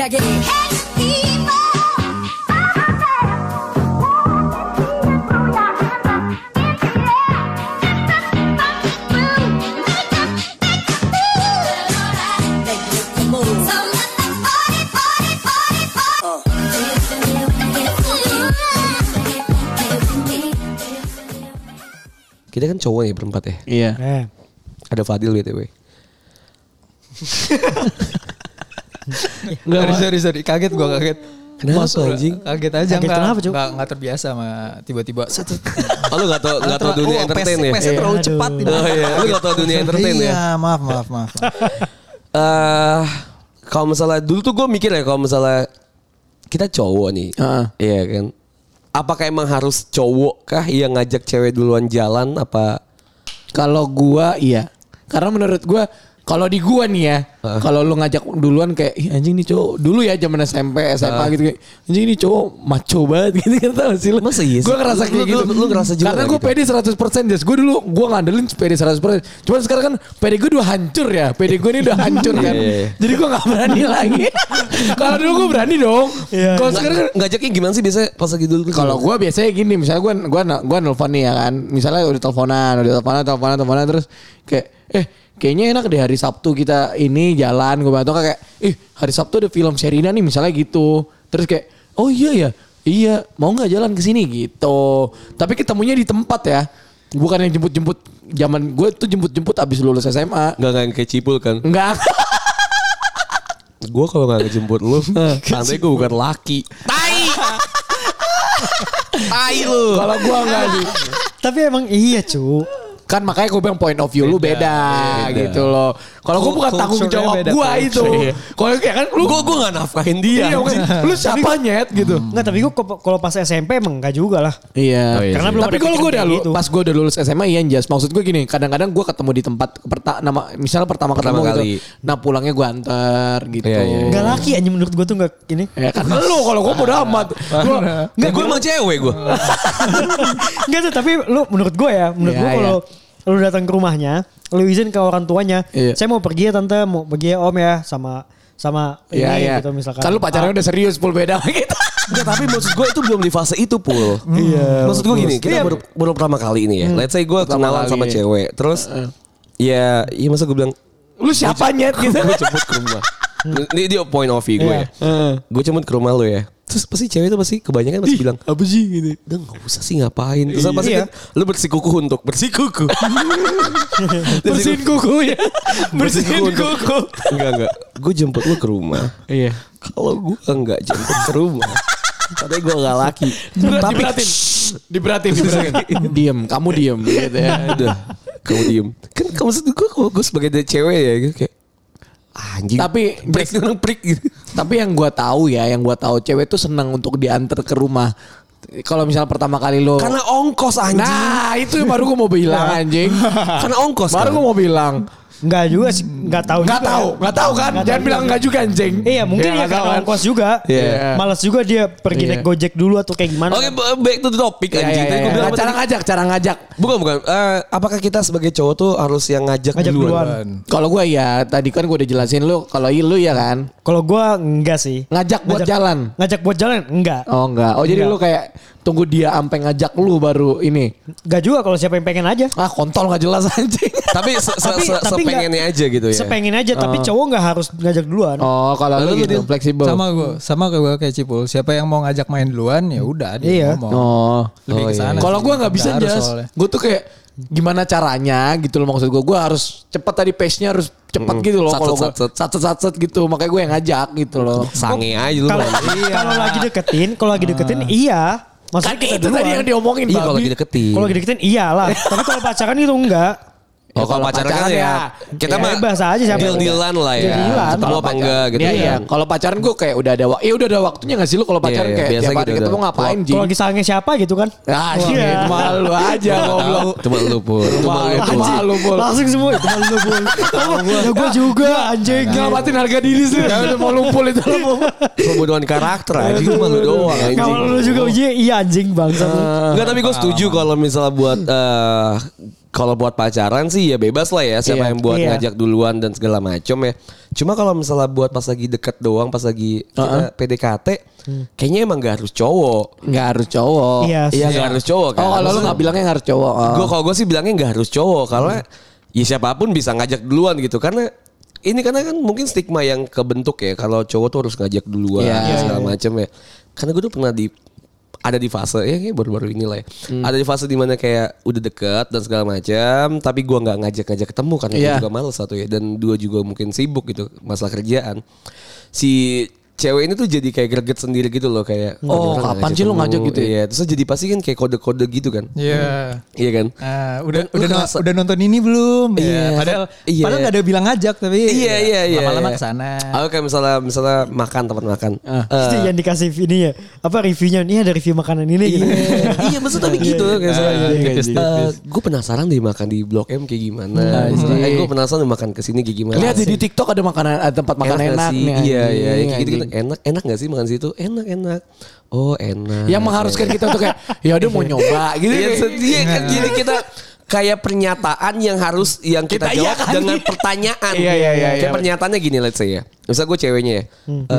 힘차게 Kita kan cowok nih berempat ya. Iya. Ada Fadil BTW. Enggak, sorry. Kaget gue, kaget. Kenapa anjing? Kaget aja. Kaget kenapa, Cuk? Enggak terbiasa sama tiba-tiba. Oh, lu gak tau dunia entertain ya? Pesnya terlalu cepat. Oh iya, lu gak tau dunia entertain ya? Iya, maaf. Kalau misalnya dulu tuh gue mikir ya, kalau misalnya kita cowok nih, iya kan? Apakah emang harus cowok kah yang ngajak cewek duluan jalan apa? Kalau gua iya. Karena menurut gua kalau di gua nih ya, kalau lu ngajak duluan kayak anjing nih cowok dulu ya zaman SMP, SMA gitu kayak anjing nih cowok macho banget gitu kan tau sih lu. Masa iya sih? Gua ngerasa kayak gitu. Lu ngerasa juga. Karena gua gitu? pede 100% Jas. Gua dulu gua ngandelin pede 100%. Cuman sekarang kan pede gua udah hancur ya. Pede gua ini udah hancur kan. Jadi gua enggak berani lagi. Kalau dulu gua berani dong. Kalau sekarang kan ngajaknya gimana sih biasanya pas lagi dulu? kalau gue biasanya gini, misalnya gue nelfon nih ya kan, misalnya udah teleponan terus kayak kayaknya enak deh hari Sabtu kita ini jalan, gue atau kayak hari Sabtu ada film Sherina nih misalnya gitu, terus kayak oh iya mau nggak jalan ke sini gitu, tapi ketemunya di tempat ya, bukan yang jemput zaman gue tuh jemput abis lulus SMA. Nggak yang kayak Cipul kan? Enggak. Gue kalau nggak ngejemput lu, santai gue bukan laki. Tai lu. Kalau gue enggak sih. Tapi emang iya, Cu. Kan makanya gue bilang point of view lu beda gitu loh. Kalau gue bukan tanggung jawab gue itu. Kalau kayak kan lu gue nggak nafkahin dia. Iya, lu siapa nyet gitu. Enggak, tapi gue kalau pas SMP emang enggak juga lah. Iya. Oh, iya Karena sih. belum Tapi ada kalau gue udah pikiran gitu. pas gue udah lulus SMA iya Jas. Maksud gue gini, kadang-kadang gue ketemu di tempat misalnya pertama ketemu kali. gitu. Nah pulangnya gue antar gitu. Iya. Enggak laki anjing menurut gue tuh enggak ini. Ya kan lu kalau gue bodo amat. Gue emang cewek gue. Enggak tuh, tapi lu menurut gue Iya, kalau lu datang ke rumahnya, lu izin ke orang tuanya, Iya. saya mau pergi ya tante, mau pergi ya om ya sama ini Iya. gitu misalkan. Kan lu pacarnya udah serius pul beda sama kita. Enggak, tapi maksud gue itu belum di fase itu Pul. Iya. Maksud gue gini, kita baru pertama kali ini ya. Let's say gue kenalan kali. sama cewek. Terus ya masa gue bilang Lu siapa nyet gitu. gue jemput ke rumah. Ini dia point of view gue ya. Gue jemput ke rumah lu ya. Terus pasti cewek itu pasti kebanyakan pasti bilang Apa sih gitu. udah gak usah sih ngapain. Terus pasti kan lu bersikuku untuk bersikuku. Bersihin kuku ya. Bersihin kuku. Enggak. Gue jemput lu ke rumah. Iya. Kalau gue enggak jemput ke rumah, katanya gue gak laki. Tapi Diberatin. Diem, kamu diem gitu ya. udah, kamu diem. Kan maksud gue sebagai cewek ya gitu kayak anjing. Tapi break gitu. Tapi yang gue tahu cewek tuh senang untuk diantar ke rumah. Kalau misalnya pertama kali lo Karena ongkos anjing. Nah itu baru gue mau bilang anjing. Karena ongkos Baru kan. gue mau bilang. Enggak juga sih, enggak tahu juga. Nggak tahu kan? Jangan bilang enggak juga anjing. Iya, mungkin ya nggak tahu karena kan? ongkos juga. Iya. Malas juga dia pergi naik Gojek dulu atau kayak gimana. Oke, back to the topic anjing. Tadi gua bilang apa Cara tadi? ngajak. Bukan. Apakah kita sebagai cowok tuh harus yang ngajak Ngajak duluan? duluan. Kalau gue ya tadi kan gue udah jelasin lu. Kalau lu ya kan Kalau gue enggak sih. ngajak buat jalan. Ngajak buat jalan enggak. Oh enggak. Oh jadi Enggak. lu kayak tunggu dia sampai ngajak lu baru ini. Enggak juga kalau siapa yang pengen aja. Ah kontol nggak jelas anjing. Tapi tapi sepengennya aja gitu ya. Sepengen aja tapi cowok enggak harus ngajak duluan. Oh kalau lu gitu fleksibel. Sama gue kayak Cipul. Siapa yang mau ngajak main duluan ya udah dia Iya. ngomong. Oh. Lebih ke sana. Kalau sih. gue nggak bisa Nggak harus Jas. soalnya. Gue tuh kayak gimana caranya gitu loh maksud gue. Gue harus cepat tadi pace-nya harus cepat gitu loh. Kalau gue satset gitu makanya gue yang ngajak gitu loh. Sange aja lu. Kalau lagi deketin iya. Maksudnya Kan kita itu tadi yang diomongin Iya kalau babi. deketin. Kalau lagi deketin iyalah. Tapi kalau pacaran itu enggak. Oh kalau pacaran ya kita mah bebas aja siapa yang deal-dealan lah ya. Deal-dealan. Ketemu apa enggak gitu Iya, iya. kan. Kalau pacaran gue kayak udah ada waktunya gak sih lu kalau pacaran Iya, kayak biasa tiap hari gitu ketemu udah. ngapain Ji? Kalau lagi sange siapa gitu kan. Ah shit malu aja goblok. Cuma lu Pul. Malu Pul. Langsung semua itu malu Pul. Ya gue juga anjing. Ngamatin harga diri sih. Ya udah mau lumpul itu lu. Pembunuhan karakter anjing cuma lu doang anjing. Kalau lu juga uji iya anjing bangsa. Enggak tapi gue setuju kalau misalnya buat Kalau buat pacaran sih ya bebas lah ya siapa yang buat ngajak duluan dan segala macam ya. Cuma kalau misalnya buat pas lagi deket doang, pas lagi kita PDKT, kayaknya emang gak harus cowok. Nggak harus cowok. Iya, Gak harus cowok kan. Oh kalau lu nggak bilangnya nggak harus cowok. Kalau gue sih bilangnya gak harus cowok karena ya siapapun bisa ngajak duluan gitu karena kan mungkin stigma yang kebentuk ya kalau cowok tuh harus ngajak duluan segala macam ya. Karena gue tuh pernah ada di fase ya kayak baru-baru inilah ya. Ada di fase dimana kayak udah deket dan segala macam, tapi gue nggak ngajak ketemu karena gue juga males satu ya, dan dua juga mungkin sibuk gitu masalah kerjaan. Si cewek ini tuh jadi kayak greget sendiri gitu loh kayak kapan sih lu ngajak gitu ya? Iya, terus jadi pasti kan kayak kode-kode gitu kan. Iya kan? Udah nonton ini belum? Iya. Padahal enggak ada bilang ngajak tapi iya. lama-lama kesana. Oke, misalnya makan tempat makan. Itu yang dikasih ini ya. Apa reviewnya? Ini ada review makanan ini gitu. Iya, maksud tapi gitu kayak gue penasaran deh makan di Blok M kayak gimana. Gue penasaran makan kesini kayak gimana. Lihat di TikTok ada tempat makan enak nih. Iya, kayak gitu. Enak gak sih makan situ? Enak. Oh enak. Yang mengharuskan kita untuk kayak ya udah mau nyoba gitu. Iya kan jadi kita kayak pernyataan yang harus kita jawab dengan pertanyaan. Iya. Kayak pernyataannya gini let's say ya. Misal gue ceweknya ya.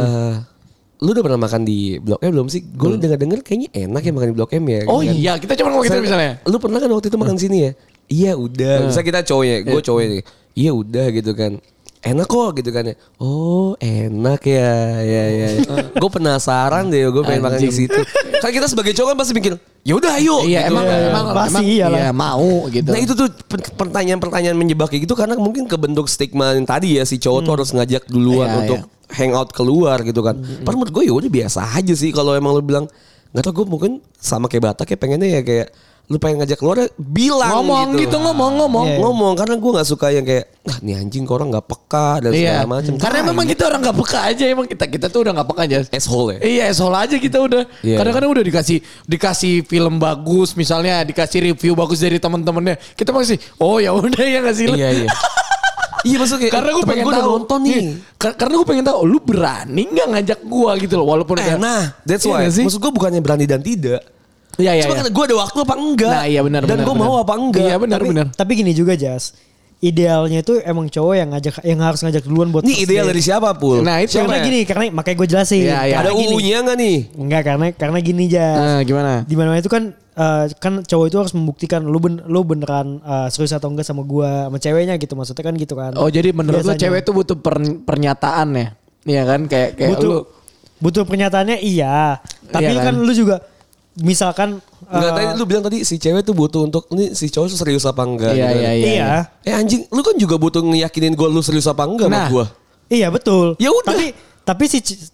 Lu udah pernah makan di Blok M belum sih? Gue denger kayaknya enak ya makan di Blok M ya. Oh kan? Iya kita cuma mau gitu misalnya. Lu pernah kan waktu itu makan sini ya? Iya udah. Misal kita cowoknya, gue cowoknya. Iya udah gitu kan. Enak kok gitu kan ya. Oh enak ya. Gue penasaran deh, gue pengen makan di situ. Kan kita sebagai cowok kan pasti mikir, ya udah ayo. Iya gitu. emang pasti iya mau gitu. Nah itu tuh pertanyaan-pertanyaan menjebak kayak gitu karena mungkin kebentuk stigma yang tadi ya si cowok tuh harus ngajak duluan untuk hangout keluar gitu kan. Padahal menurut gue ya udah biasa aja sih kalau emang lu bilang nggak tau gue mungkin sama kayak Batak ya pengennya ya kayak lu pengen ngajak keluar bilang ngomong karena gue nggak suka yang kayak nih anjing kok orang nggak peka dan segala macam karena memang kita orang nggak peka aja emang kita tuh udah nggak peka aja asshole ya iya asshole aja kita udah kadang-kadang udah dikasih film bagus misalnya dikasih review bagus dari teman-temannya kita masih ya udah ya nggak sih iya iya maksudnya karena gue pengen tahu nonton nih karena gue pengen tahu lu berani nggak ngajak gue gitu loh walaupun that's why maksud gue bukannya berani dan tidak. Iya. Cuma gue ada waktu apa enggak? Nah iya benar. Dan gue mau apa enggak? Iya benar. Tapi gini juga Jas. Idealnya itu emang cowok yang harus ngajak duluan buat. Ini ideal dari siapa Pul? Nah itu karena makanya gue jelasin. Iya. Ada UU-nya nggak nih? Enggak karena gini Jas. Gimana? Di mana itu kan cowok itu harus membuktikan lu beneran serius atau enggak sama gua sama ceweknya gitu maksudnya kan gitu kan. Oh jadi menurut lu cewek itu butuh pernyataan ya? Iya kan kayak butuh pernyataannya iya. Tapi kan lu juga misalkan enggak tadi lu bilang tadi si cewek tuh butuh untuk ini si cowok tuh serius apa enggak? Iya. Anjing, lu kan juga butuh ngeyakinin gue lu serius apa enggak sama gue. Iya betul. Ya udah. Tapi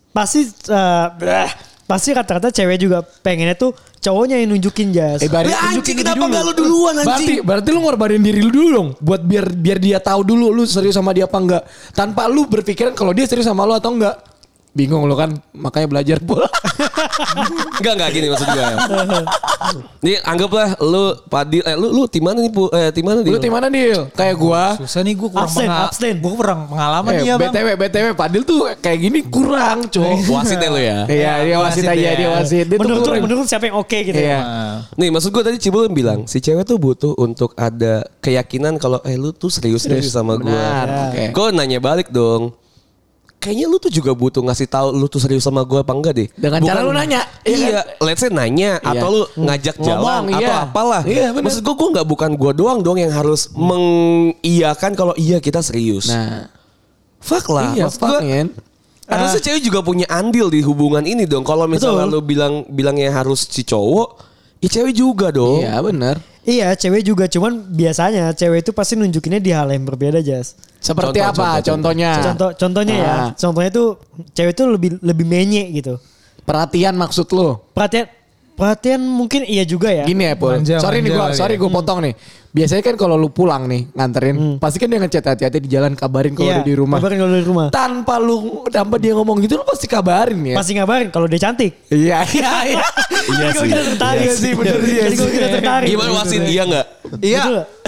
pasti rata-rata cewek juga pengennya tuh cowoknya yang nunjukin Jas. Anjing kenapa enggak lu duluan anjing? Berarti lu ngorbanin diri lu dulu dong buat biar dia tahu dulu lu serius sama dia apa enggak. Tanpa lu berpikiran kalau dia serius sama lu atau enggak. Bingung lo kan, makanya belajar bola. Enggak gini maksud gue. Nih anggaplah lu Padil, lu tim mana nih tim mana Dil? Lu tim mana Dil? Kayak gua. Susah nih gua kurang pengalaman ya Bang. BTW Padil tuh kayak gini kurang, Cok. Wasit ya lu ya? Iya, dia wasit aja, dia wasit. Menurut siapa yang oke gitu ya. Nih maksud gue tadi Cibul bilang, si cewek tuh butuh untuk ada keyakinan kalau lu tuh serius sama gue. Gue nanya balik dong. Kayaknya lu tuh juga butuh ngasih tahu lu tuh serius sama gue apa enggak deh. Dengan cara lu nanya. Iya, let's say nanya atau lu ngajak jalan atau apalah. Maksud gue bukan gue doang yang harus mengiyakan kalau iya kita serius. Nah, fuck lah. Iya, maksud gue harusnya cewek juga punya andil di hubungan ini dong. Kalau misalnya lu bilangnya harus si cowok, ya cewek juga dong. Iya benar. Iya cewek juga, cuman biasanya cewek itu pasti nunjukinnya di hal yang berbeda Jas. Seperti apa contohnya? Contohnya ya, contohnya tuh cewek tuh lebih menye gitu. Perhatian maksud lu? Perhatian mungkin iya juga ya. Gini ya Pul, sorry gue potong nih. Biasanya kan kalau lu pulang nih nganterin, pasti kan dia ngechat hati-hati di jalan, kabarin kalau udah di rumah. Kabarin kalau di rumah. Tanpa dia ngomong gitu lu pasti kabarin ya. Pasti ngabarin kalau dia cantik. Iya. Iya sih. Kita tertarik sih bener dia. Kita tertarik. Gimana wasit iya enggak? Iya.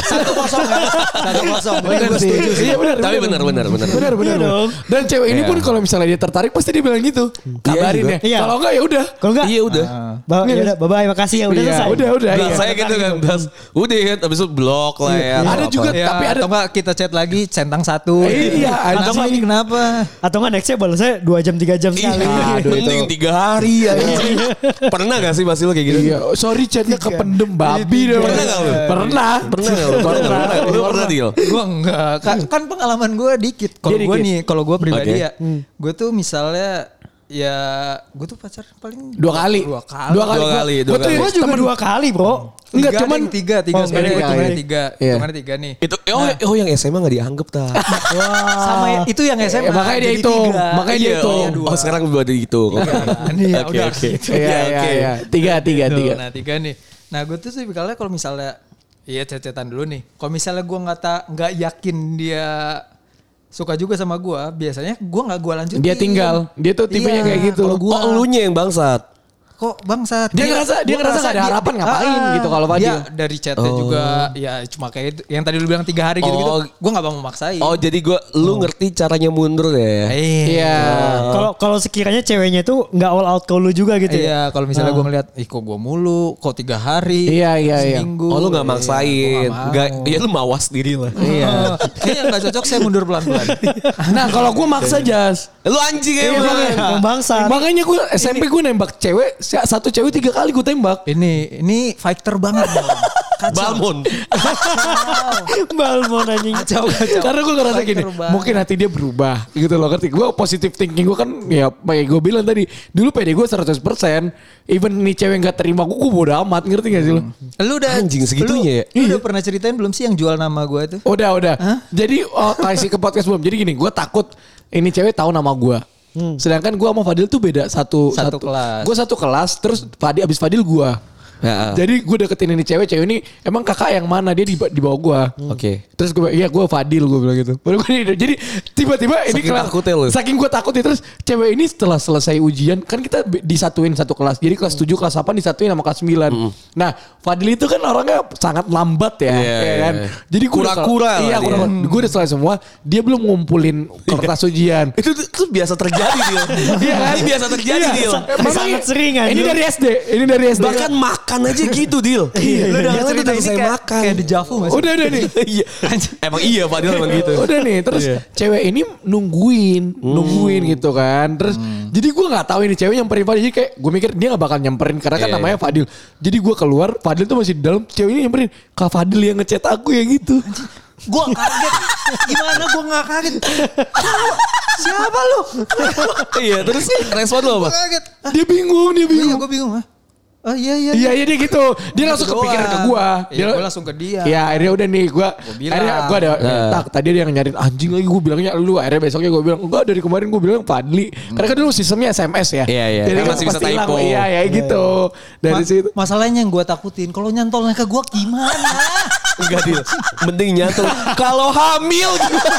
1-0. Bener sih. Iya benar. Tapi benar. Benar dong. Dan cewek ini pun kalau misalnya dia tertarik pasti dia bilang gitu. Kabarin ya. Iya. Kalau enggak ya udah. Kalau enggak, Iya udah. ya udah, bye-bye, makasih ya udah Iya, selesai. udah. Nah, Iya. saya gitu kan. Udah kan. Abis itu blok lah ya. Ada atau juga apa. tapi ada Atau enggak kita chat lagi centang 1. Iya, Atau enggak ini kenapa? Atau enggak nextnya balasnya 2 jam 3 jam sekali. Iya, Aduh, mending 3 hari ya. Pernah gak sih Basil kayak gitu? Iya, sorry chatnya kependem babi deh. Pernah nggak lu? Pernah. Pernah gak? Lu pernah deal? Gue enggak. Kan pengalaman gue dikit. Kalau Dia gue dikit. nih, kalau gue pribadi Oke. ya, gue tuh misalnya ya gue tuh pacar paling 2 kali. Dua kali. Dua kali. Gue juga 2 kali, Bro. Enggak, cuman tiga Oh, sebenarnya tiga, hitungannya ya. 3. Iya. Hitungannya 3 nih. Itu yang SMA gak dianggap tak? Sama itu yang SMA. makanya dia jadi hitung. 3. Makanya dia hitung. Oh sekarang buat itu. Nih ya Oke, udah. oke. Iya. 3. Tuh, nah 3 nih. Nah gue tuh tipikalnya kalau misalnya iya chat-chatan dulu nih. Kalau misalnya gue nggak yakin dia suka juga sama gue, biasanya gue nggak gue lanjutin. Dia tinggal. Dia tuh tipenya kayak gitu. Kalau gue Oh elunya yang bangsat. kok bangsat. Dia ngerasa gak ada harapan ngapain gitu kalau Fadil. Dia dari chatnya juga ya cuma kayak itu, yang tadi lu bilang 3 hari gitu-gitu. Oh. Gue nggak mau maksain. Oh jadi lu ngerti caranya mundur ya? Iya. Kalau sekiranya ceweknya itu nggak all out ke lu juga gitu ya. Iya, kalau misalnya gue ngeliat, kok gue mulu, kok 3 hari, Iya. seminggu. Oh lu gak maksain. Iya, Iya lu mawas diri lah. Iya. Kayaknya gak cocok, saya mundur pelan-pelan. Nah kalau gue maksa Jas. Lu anjing emang. Yang bangsa. Makanya gue SMP gue nembak cewek. Satu cewek 3 kali gue tembak. Ini fighter banget. Balmon. Balmon anjing. Kacau. Karena gue ngerasa gini, Fighter banget. mungkin hati dia berubah gitu loh, ngerti. Gue positive thinking gue kan ya kayak gue bilang tadi, dulu PD gue 100%, even nih cewek gak terima gue bodo amat, ngerti gak sih lo? Lu udah Anjing segitunya ya? Lu udah pernah ceritain belum sih yang jual nama gue itu? Udah. Jadi kasih ke podcast belum. Jadi gini, gue takut ini cewek tahu nama gue. Sedangkan gue sama Fadil tuh beda satu kelas. Gue satu kelas, terus abis Fadil gue. Ya. Jadi gue deketin ini cewek ini emang kakak yang mana, dia di bawah gue. Oke. Terus gue Fadil gue bilang gitu. Jadi tiba-tiba ini Saking takutnya lu. saking gue takutnya, terus cewek ini setelah selesai ujian kan kita disatuin satu kelas. Jadi kelas 7 kelas 8 disatuin sama kelas 9. Nah Fadil itu kan orangnya sangat lambat ya, Iya, ya kan. iya. Jadi gue Kura-kura lah Iya dia. kura-kura. Gue udah selesai semua. Dia belum ngumpulin kertas ujian. Itu biasa terjadi dia. Iya kan? Ini biasa terjadi dia. Sangat sering aja. Ini dari SD. Ini dari SD. Bahkan makan aja gitu Dil. Lu udah Dia cerita udah ini selesai kayak, makan. kayak dejavu gak sih? Udah nih. Iya. Emang iya Fadil emang gitu. Udah nih, terus cewek ini nungguin gitu kan. Terus jadi gue nggak tahu ini cewek nyamperin Fadil. Jadi kayak gue mikir dia nggak bakal nyamperin karena kan Iya, namanya Fadil. Jadi gue keluar, Fadil tuh masih di dalam. Cewek ini nyamperin, Kak Fadil yang ngechat aku ya gitu. Gue kaget. Gimana gue gak kaget? Siapa lu? Iya terus respon lo apa? Kaget. Dia bingung. Iya gue bingung. Oh iya. Iya dia gitu. Dia langsung Gitu kepikiran ke doang. gue. Iya, gue langsung ke dia. Iya akhirnya udah nih gue. bilang. Akhirnya gue ada. Tak tadi dia yang nyariin anjing lagi, gue bilangnya lu. Akhirnya besoknya gue bilang enggak, dari kemarin gue bilang Fadli. Karena kan dulu sistemnya SMS ya. Iya. Jadi Kan kan masih bisa pasti hilang. typo. Iya gitu. Dari situ. Masalahnya yang gue takutin, kalau nyantolnya ke gue gimana? Enggak Dil. Mending nyantol. Kalau hamil.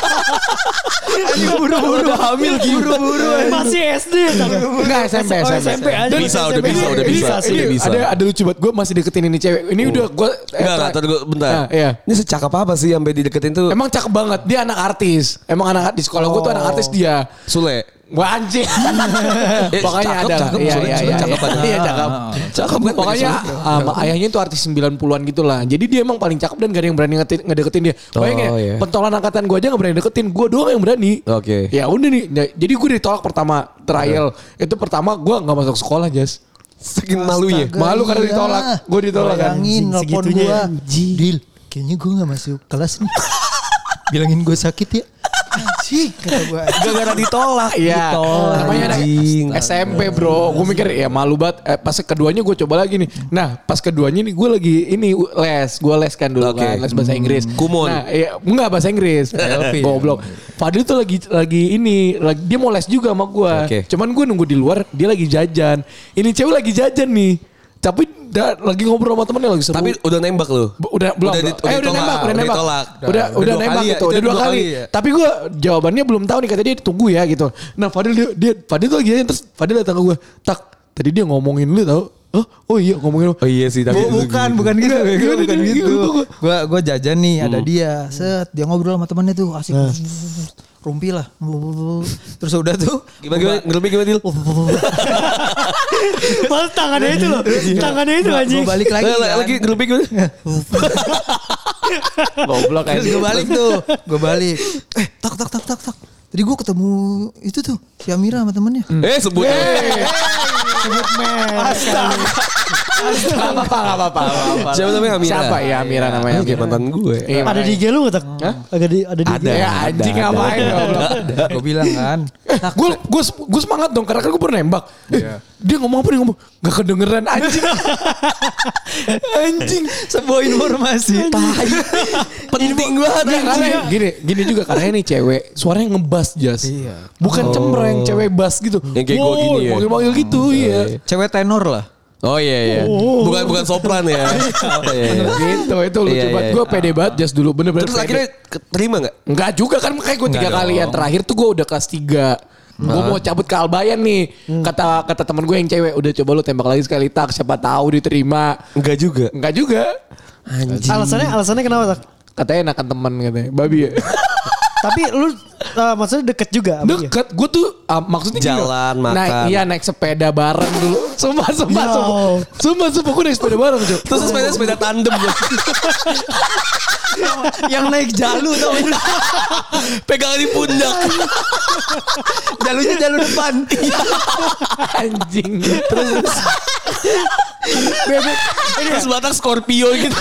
Buru-buru. Udah hamil buru-buru. Masih SD. Enggak SMP. SMP aja. Udah bisa. Ini ada lucu banget, gue masih deketin ini cewek. Ini udah gue Enggak, bentar. Nah, iya. Ini secakap apa sih sampai dideketin tuh? Emang cakep banget. Dia anak artis. Emang anak di sekolah gue tuh anak artis dia. Sule. Wah anjing. Pokoknya cakep, ada. cakep, Iya, Sule, iya, Sule iya. cakep aja. Iya cakep. Cakep kan, Pokoknya Sule. ayahnya itu artis 90-an gitu lah. Jadi dia emang paling cakep dan gak ada yang berani ngedeketin dia. Bayangin ya, iya. pentolan angkatan gue aja gak berani deketin. Gue doang yang berani. Oke. Ya udah nih. Jadi gue ditolak pertama trial. Itu pertama gue gak masuk sekolah, Jas. Saking malunya. Malu karena ditolak. Gue ditolak kan. Bayangin nelpon Segitunya. gue. Dil, kayaknya gue gak masuk kelas nih. Bilangin gue sakit ya. Anjing kata gue. Gara-gara ditolak. Iya. Namanya anak SMP bro. Gue mikir ya malu banget. Pas keduanya gue coba lagi nih. Nah pas keduanya nih gue lagi les. Gue les kan dulu Oke. kan. Les bahasa Inggris. Kumon. Nah iya, enggak bahasa Inggris. Goblok. Fadil tuh lagi dia mau les juga sama gue. Oke. Cuman gue nunggu di luar. Dia lagi jajan. Ini cewek lagi jajan nih. Tapi lagi ngobrol sama temennya lagi seru. Tapi udah nembak lu? Udah belum. Udah nembak. Udah Udah dua nembak kali ya? gitu. Itu Udah dua dua kali. kali ya? Tapi gue jawabannya belum tahu nih, kata dia ditunggu ya gitu. Nah Fadil tuh lagi aja, terus Fadil datang ke gue. Tak, tadi dia ngomongin lu tau. Oh iya ngomongin. Oh iya sih tapi Bukan gitu. Bukan gitu. Gua jajan nih, ada dia. Set, dia ngobrol sama temannya tuh, asik. Rumpi lah. Terus udah tuh. Gimana gimana Dil? Mas tangannya itu loh. Tangannya itu anjing. Gue balik lagi. Lagi ngelupin gimana? Goblok Terus gue balik tuh. Gue balik. Tak. Tadi gue ketemu itu tuh. Si Amira sama temennya. Sebut. Sebut mes. Gak apa-apa. Siapa namanya Amira? Siapa ya Amira namanya? Kayak mantan gue. Ada di IG lu gak tak? Ada di Ada. IG. Ya anjing ngapain goblok. Gue bilang kan. Gue semangat dong karena kan gue pernah nembak. Dia ngomong apa dia ngomong gak kedengeran anjing. Anjing. Sebuah informasi. Penting banget. Gini juga karena ini cewek suaranya ngebas Jas. Bukan cemreng, cewek bass gitu. Yang kayak gue gini ya. Manggil-manggil gitu iya. Cewek tenor lah. Oh iya. Bukan sopran ya. Gitu itu lucu banget. Gue pede banget Jas dulu bener-bener. Terus akhirnya terima gak? Enggak juga kan makanya gue 3 kali yang terakhir tuh gue udah kelas 3. Gue mau cabut ke Albayan nih. Kata teman gue yang cewek, udah coba lu tembak lagi sekali tak, siapa tahu diterima. Enggak juga. Anjing. Alasannya kenapa tak? Katanya enakan teman katanya. Babi ya. Tapi lu maksudnya deket juga? Deket. Gue tuh maksudnya jalan, makan. naik sepeda bareng dulu. Sumpah. Gue naik sepeda bareng. Terus sepeda tandem. Yang naik jalu tau. Pegangan di pundak. Jalunya jalu depan. Anjing. Terus batang Scorpio gitu.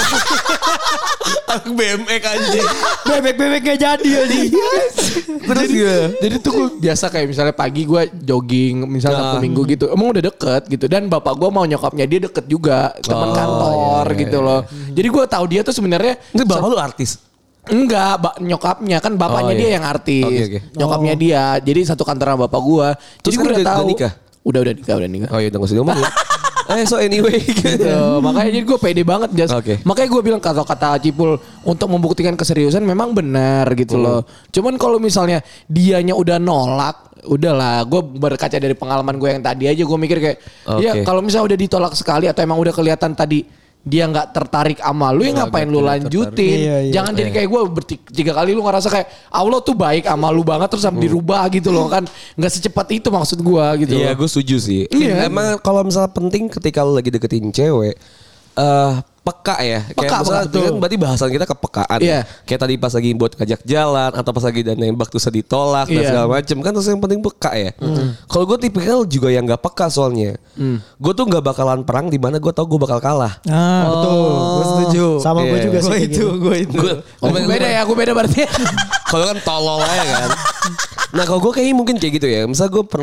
Aku BMX anjing. Bebek gak jadi anjing. Terus Jadi tuh gue biasa kayak misalnya pagi gue jogging misalnya Sabtu Minggu gitu. Emang udah deket gitu. Dan bapak gue mau nyokapnya dia deket juga. Teman kantor gitu loh. Jadi gue tahu dia tuh sebenarnya. Ini bapak lu artis? Enggak, nyokapnya kan bapaknya dia yang artis. Okay. Nyokapnya dia. Jadi satu kantor sama bapak gue. Jadi gue udah tahu. nikah? Udah nikah. Oh iya udah gak usah ngomong ya. So anyway gitu. Makanya jadi gue pede banget Jas. Makanya gue bilang kata Cipul untuk membuktikan keseriusan memang benar gitu loh. Cuman kalau misalnya dianya udah nolak, udahlah. Gue berkaca dari pengalaman gue yang tadi aja gue mikir kayak ya kalau misalnya udah ditolak sekali atau emang udah kelihatan tadi dia nggak tertarik sama lu ya ngapain lu lanjutin. Jangan jadi kayak gue 3 kali lu ngerasa kayak Allah tuh baik sama lu banget terus sampai dirubah gitu loh kan. Nggak secepat itu maksud gue gitu. Iya gue setuju sih. Emang kalau misalnya penting ketika lu lagi deketin cewek peka ya. Kayak misalnya kan berarti bahasan kita kepekaan. Kayak tadi pas lagi buat ngajak jalan atau pas lagi dan nembak terus ditolak dan segala macem kan terus yang penting peka ya. Kalau gue tipikal juga yang gak peka soalnya. Gue tuh gak bakalan perang di mana gue tau gue bakal kalah. Betul. Gue setuju. Sama gue juga sih. Gue beda ya, gue beda berarti. Kalau kan tolol aja kan. Nah kalau gue kayaknya mungkin kayak gitu ya. Misal gue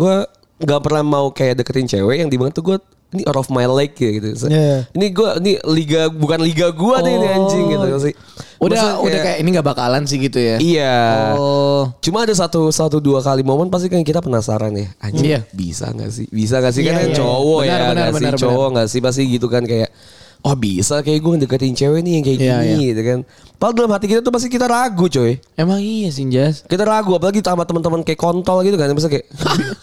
gak pernah mau kayak deketin cewek yang dimana tuh gue ini out of my league gitu. Ini liga bukan liga gue nih ini anjing gitu sih. Udah kayak ini gak bakalan sih gitu ya. Iya. Cuma ada 1-2 kali momen pasti kan kita penasaran ya. Anjing bisa gak sih kan cowok benar, cowok gak sih pasti gitu kan kayak oh bisa kayak gue ngedeketin cewek nih yang kayak gini gitu kan. Padahal dalam hati kita tuh pasti kita ragu coy. Emang iya sih Jas. Kita ragu apalagi sama teman-teman kayak kontol gitu kan. Misalnya kayak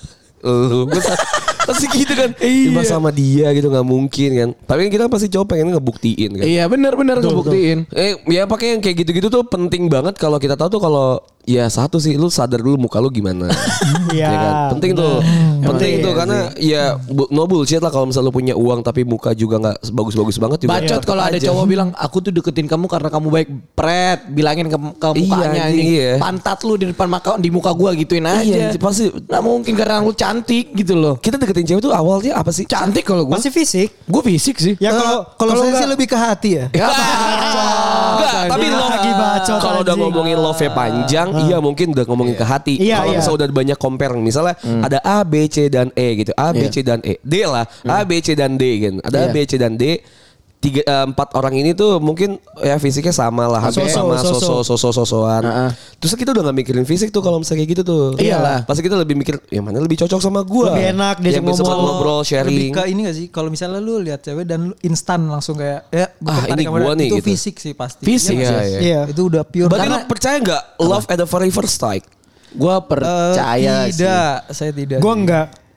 lu pasti gitu kan. Iya. Sama dia gitu gak mungkin kan. Tapi kita pasti cowok pengen ngebuktiin kan. Iya benar ngebuktiin. Ya pakai yang kayak gitu-gitu tuh penting banget kalau kita tahu tuh kalau ya satu sih lu sadar dulu muka lu gimana. Iya kan? Penting tuh. Penting tuh karena ya no bullshit lah kalau misalnya lu punya uang tapi muka juga gak bagus-bagus banget juga. Bacot kalau ada cowok bilang aku tuh deketin kamu karena kamu baik pret. Bilangin ke mukanya pantat lu di depan di muka gua gituin aja. Pasti gak mungkin karena lu cantik gitu loh. Kita deketin cewek tuh awalnya apa sih? Cantik kalau gua. Pasti fisik. Gue fisik sih. Ya kalau saya sih lebih ke hati ya. Enggak, tapi kalau udah ngomongin love-nya panjang, iya mungkin udah ngomongin ke hati. Kalau misalnya udah banyak compare, misalnya ada A, B, C dan E gitu. A, B, C dan E. D lah. A, B, C dan D gitu. Ada A, B, C dan D. 4 orang ini tuh mungkin ya fisiknya sama lah, hampir sama sosokan. Terus kita udah gak mikirin fisik tuh kalau misalnya kayak gitu tuh. Iyalah. Pasti kita lebih mikir yang mana lebih cocok sama gue. Lebih enak dia ngobrol, sharing. Lebih ke ini gak sih? Kalau misalnya lu lihat cewek dan lu instan langsung kayak ya ini gue nih itu gitu. fisik sih pasti. Fisik ya. Itu udah pure. Berarti lu percaya gak love at the very first sight? Gue percaya sih. Tidak, saya tidak. Gue enggak.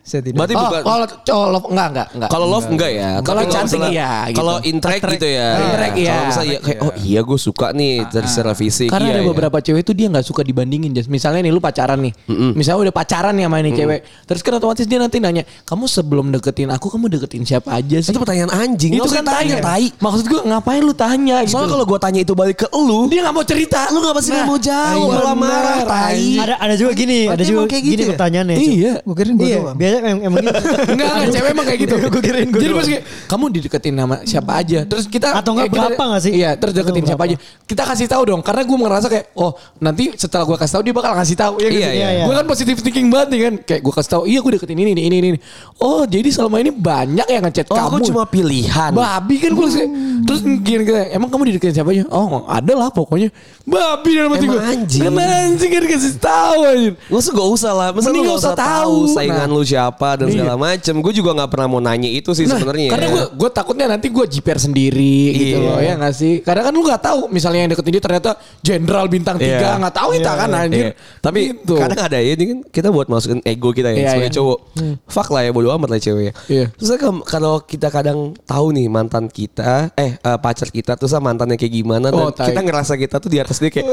Saya tidak. Berarti bukan. Kalau love enggak. Kalau love enggak ya. Kalau Tapi cantik misalnya- iya gitu. Kalau interact gitu ya. Interact iya. Kalau misalnya kayak oh iya gue suka nih dari secara fisik. Karena iya, ada iya. beberapa cewek tuh dia nggak suka dibandingin. Jas. Misalnya nih lu pacaran nih. Misalnya udah pacaran nih sama ini cewek. Terus kan otomatis dia nanti nanya, kamu sebelum deketin aku kamu deketin siapa aja sih? Itu pertanyaan anjing. Itu kan tanya. Maksud gue ngapain lu tanya gitu. Soalnya kalau gue tanya itu balik ke lu, dia nggak mau cerita. lu nggak pasti nggak mau jawab, iya, malah marah. bener, Tai. Ada juga gini, ada Berarti juga emang kayak gitu gini ya? pertanyaannya. Iya. Gue kirain gue Iya, doang. biasanya emang gitu. Enggak, cewek emang kayak gitu. Gue kirain gue Jadi doang. pas kayak, kamu dideketin sama siapa aja. Terus kita Atau enggak berapa nggak sih? Iya, terus deketin Atau siapa aja. Kita kasih tahu dong, karena gue ngerasa kayak, oh nanti setelah gue kasih tahu dia bakal ngasih tahu. Ya, Iya, iya. Gue kan positive thinking banget nih kan. Kayak gue kasih tahu, iya gue deketin ini. Oh jadi selama ini banyak yang ngechat Oh, kamu. aku cuma pilihan. Babi kan gue kayak, terus gini kayak, emang kamu dideketin siapa aja? Oh ada lah pokoknya. Babi dalam hati gue. Emang anjing. Emang anjing kan dikasih tahu aja. Gak usah lah. Masa Mending lu nggak gak usah usah tahu tahu. saingan Nah. lu siapa dan Iya. segala macem. Gue juga gak pernah mau nanya itu sih sebenarnya. Karena gue takutnya nanti gue jiper sendiri gitu Iya. loh ya gak sih. Kadang kan lu gak tahu misalnya yang deketin dia ternyata jenderal bintang 3 Iya. gak tahu kita kan anjir. Iya. Tapi Gitu. kadang ada ya ini kan kita buat masukin ego kita ya Iya, sebagai iya. cowok. Fuck lah ya bodo amat lah cewek ya. Iya. Terus kalau kita kadang tahu nih mantan kita pacar kita terus mantannya kayak gimana dan Oh, tai. kita ngerasa kita tuh di atas dia kayak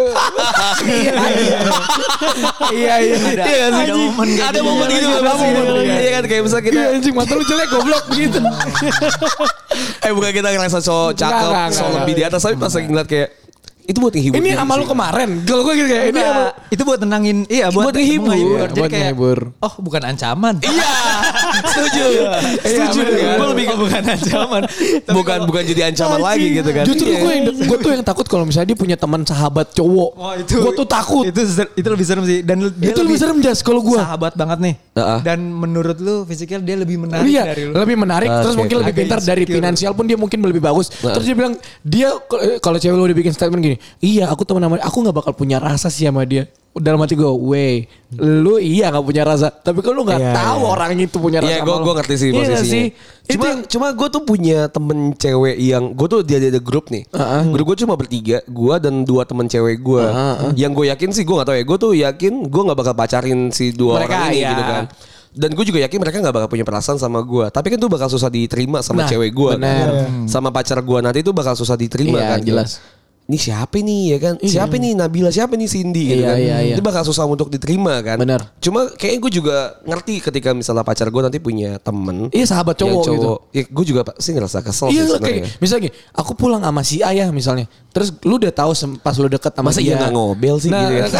Iya. Iya nggak sih? Ada momen gitu Ada nggak sih? momen, iya. Iya kan kayak misalnya kita Iya anjing mata lu jelek goblok begitu. bukan kita ngerasa cowok cakep Enggak, so enggak, lebih di atas tapi pas lagi ngeliat kayak itu buat menghibur Ini diri sama lu sih. kemarin. Kalau gue gitu kayak ini Enggak, sama itu buat tenangin, iya buat menghibur. Iya, Jadi buat kayak, menghibur. oh bukan ancaman. Iya, setuju. Setuju. bener kan? Gue lebih bukan ancaman. bukan jadi ancaman lagi gitu kan. Justru Iya. gue tuh yang takut kalau misalnya dia punya teman sahabat cowok. Wah itu. Gue tuh takut. Itu lebih serem sih. Dan dia Itu lebih serem Jas kalau gue. sahabat banget nih. Heeh. Dan menurut lu fisikal dia lebih menarik Iya, dari lu. lebih menarik. Terus Oke. mungkin lebih Agak pintar dari insecure. finansial pun dia mungkin lebih bagus. Terus dia bilang dia kalau cewek lu udah bikin statement gini, iya aku teman sama dia, aku nggak bakal punya rasa sih sama dia. Dalam hati gue, wey, lu iya nggak punya rasa, tapi kalau lu nggak Iya, tahu iya. orang itu punya rasa. Iya, sama lu. gue ngerti sih Iya nggak posisinya. sih? Cuma gue tuh punya temen cewek yang gue tuh dia ada grup nih. Grup gue cuma bertiga, gue dan 2 temen cewek gue. Yang gue yakin sih gue nggak tahu ya. Gue tuh yakin gue nggak bakal pacarin si 2 Mereka, orang ini iya. gitu kan. Dan gue juga yakin mereka gak bakal punya perasaan sama gue. Tapi kan tuh bakal susah diterima sama Nah, cewek gue. bener. Kan? Sama pacar gue nanti tuh bakal susah diterima Iya, kan. jelas. Ini siapa nih ya kan? Siapa nih Nabila? Siapa nih Cindy gitu Iya, kan? iya, iya. Itu bakal susah untuk diterima kan. Bener. Cuma kayaknya gue juga ngerti ketika misalnya pacar gue nanti punya temen. Iya sahabat yang cowok gitu. Ya, gue juga pasti ngerasa kesel Iya sih kayak sebenarnya. misalnya gini, aku pulang sama si ayah misalnya. Terus lu udah tahu pas lu deket sama Masa dia. iya gak ngobel sih gitu ya?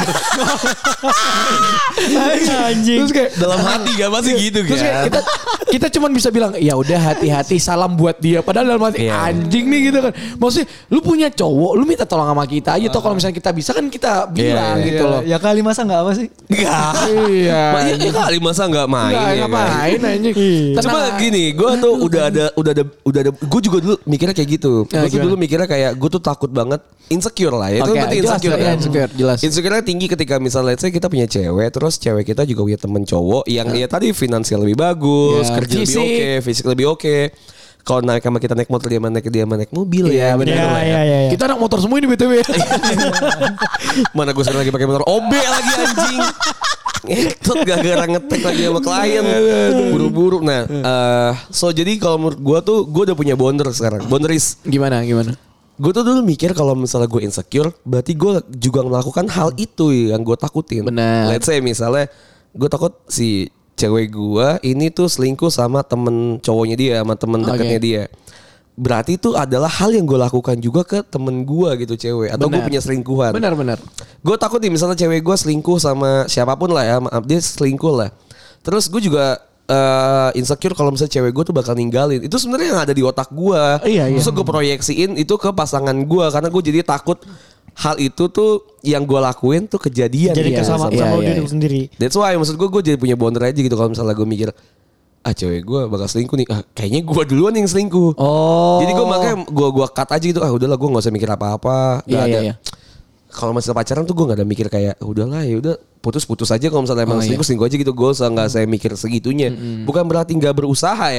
Anjing. Terus kayak Dalam hati gak pasti gitu Terus kayak kan? kita cuman bisa bilang ya udah hati-hati salam buat dia. Padahal dalam hati Iya. anjing nih gitu kan. Maksudnya lu punya cowok, lu minta tolong sama kita aja. Toh kalau misalnya kita bisa kan kita bilang iya, gitu loh. Ya kali masa nggak apa sih? Enggak. Iya. Ya kali masa gak main Enggak ya kan? ngapain anjing. Cuma Tenang. gini, gue tuh udah ada, gue juga dulu mikirnya kayak gitu. Ya, Gue tuh gimana? dulu mikirnya kayak gue tuh takut banget insecure lah. Ya. Itu Oke, berarti jelas, insecure ya, kan? insecure, jelas. Insecure tinggi ketika misalnya let's say kita punya cewek, terus cewek kita juga punya temen cowok yang ya tadi finansial lebih bagus, Ya, kerja lebih fisik. oke, fisik lebih oke. Kalau naik sama kita naik motor dia mana naik mobil Iya, ya. bener. Gitu lah ya. Iya. Kita anak motor semua ini BTW. Mana gue sekarang lagi pakai motor OB lagi anjing. Ngetot gara-gara ngetek lagi sama klien. Buru-buru. Nah, so jadi kalau menurut gue tuh gue udah punya boundaries. Gimana? Gue tuh dulu mikir kalau misalnya gue insecure, berarti gue juga melakukan hal itu yang gue takutin. Benar. Let's say misalnya gue takut si cewek gue ini tuh selingkuh sama temen cowoknya dia, sama temen dekatnya dia. Berarti itu adalah hal yang gue lakukan juga ke temen gue gitu cewek. Atau gue Benar. punya selingkuhan. Benar. Gue takut nih misalnya cewek gue selingkuh sama siapapun lah ya, maaf dia selingkuh lah. Terus gue juga insecure kalau misalnya cewek gue tuh bakal ninggalin. Itu sebenarnya yang ada di otak gue. Iya. Terus gue proyeksiin itu ke pasangan gue karena gue jadi takut hal itu tuh yang gue lakuin tuh kejadian. Jadi Iya, sama iya, sama iya, diri iya. sendiri. That's why maksud gue jadi punya boundary aja gitu kalau misalnya gue mikir cewek gue bakal selingkuh nih. Kayaknya gue duluan yang selingkuh. Oh. Jadi gue makanya gue cut aja gitu. Udahlah gue nggak usah mikir apa-apa. Nggak ada. Iya. Kalau masih pacaran tuh gue nggak ada mikir kayak udahlah ya udah putus aja kalau misalnya emang selingkuh aja gitu. Gue nggak saya mikir segitunya. Bukan berarti nggak berusaha ya.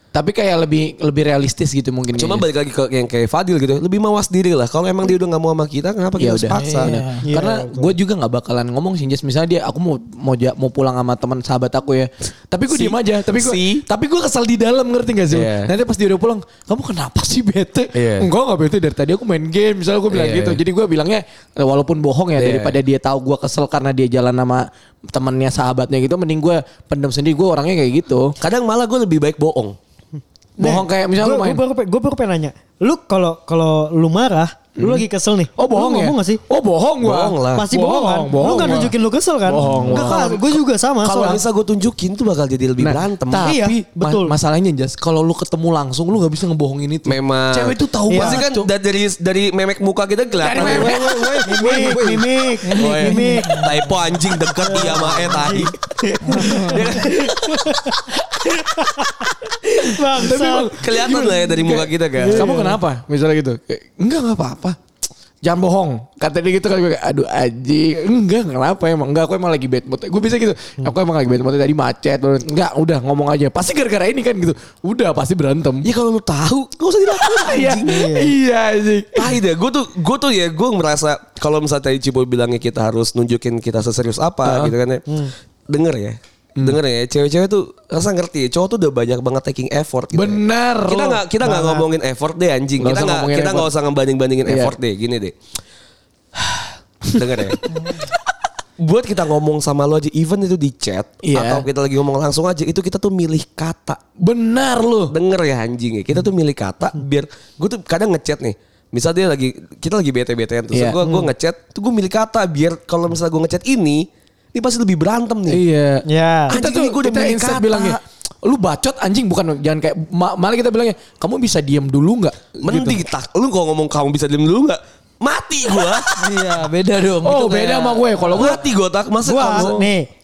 Tapi kayak lebih realistis gitu mungkin. Cuma kayaknya. balik lagi ke yang kayak Fadil gitu, lebih mawas diri lah. Kalau emang dia udah nggak mau sama kita, kenapa kita harus paksa? Iya, Karena gue juga nggak bakalan ngomong sih, Jas. Misalnya aku mau pulang sama teman sahabat aku ya. Tapi gue diem aja. Tapi gue kesel di dalam, ngerti gak sih? Yeah. Nanti pas dia udah pulang, kamu kenapa sih bete? Yeah. Enggak nggak bete, dari tadi aku main game. Misalnya gue bilang gitu. Jadi gue bilangnya walaupun bohong ya, daripada dia tahu gue kesel karena dia jalan sama temannya sahabatnya gitu, mending gue pendam sendiri. Gue orangnya kayak gitu. Kadang malah gue lebih baik bohong. Bohong kayak misalnya lu main. Gue baru pengen nanya. Lu kalau lu marah, lu lagi kesel nih. Oh bohong lu ya? ngomong gak sih? Oh bohong gua. Bohong lah. Pasti bohong kan? Lu gak nunjukin lu kesel kan? Bohong. Enggak kan? Gue juga sama. Kalau soalnya. bisa gue tunjukin tuh bakal jadi lebih berantem. Tapi Iya, betul. masalahnya Jas, kalau lu ketemu langsung lu gak bisa ngebohongin itu. Memang. Cewek itu tahu Pasti banget. kan Cok. dari memek muka kita kelihatan. Mimik. Typo anjing deket iya sama tadi. Bangsa. Kelihatan lah ya dari muka kita kan. Kamu kenapa? Misalnya gitu. Kayak, enggak apa-apa. Jangan bohong. Kata dia gitu kan gue kayak, aduh anjing. Enggak kenapa emang. Enggak, aku emang lagi bad mood. Gue bisa gitu. Aku emang lagi bad mood tadi macet. Enggak, udah ngomong aja. Pasti gara-gara ini kan gitu. Udah pasti berantem. Ya kalau lu tahu, gak usah dilakukan anjing. Iya anjing. Gue tuh gue merasa kalau misalnya tadi Cibo bilangnya kita harus nunjukin kita seserius apa gitu kan ya. Denger ya. Cewek-cewek tuh rasa ngerti. Cowok tuh udah banyak banget taking effort gitu. Bener. Kita nggak ngomongin effort deh anjing. Nggak Kita nggak usah ngebanding-bandingin effort deh. Gini deh. Denger ya. Buat kita ngomong sama lo aja, even itu di chat atau kita lagi ngomong langsung aja, itu kita tuh milih kata. Benar lu. Denger ya anjing ya. Kita tuh milih kata biar gue tuh kadang ngechat nih. Misalnya kita lagi bete-betean terus gue ngechat, tuh gue milih kata biar kalau misalnya gue ngechat ini pasti lebih berantem nih. Iya. Ya. Kita tuh gue udah milih instead kata. bilangnya, lu bacot anjing, bukan, jangan kayak malah kita bilangnya, kamu bisa diam dulu nggak? Mending lu kalau ngomong kamu bisa diem dulu nggak? Mati gua. Iya beda dong. Oh Itu beda kayak- sama gue. Kalau gue Mati gua tak masa kamu.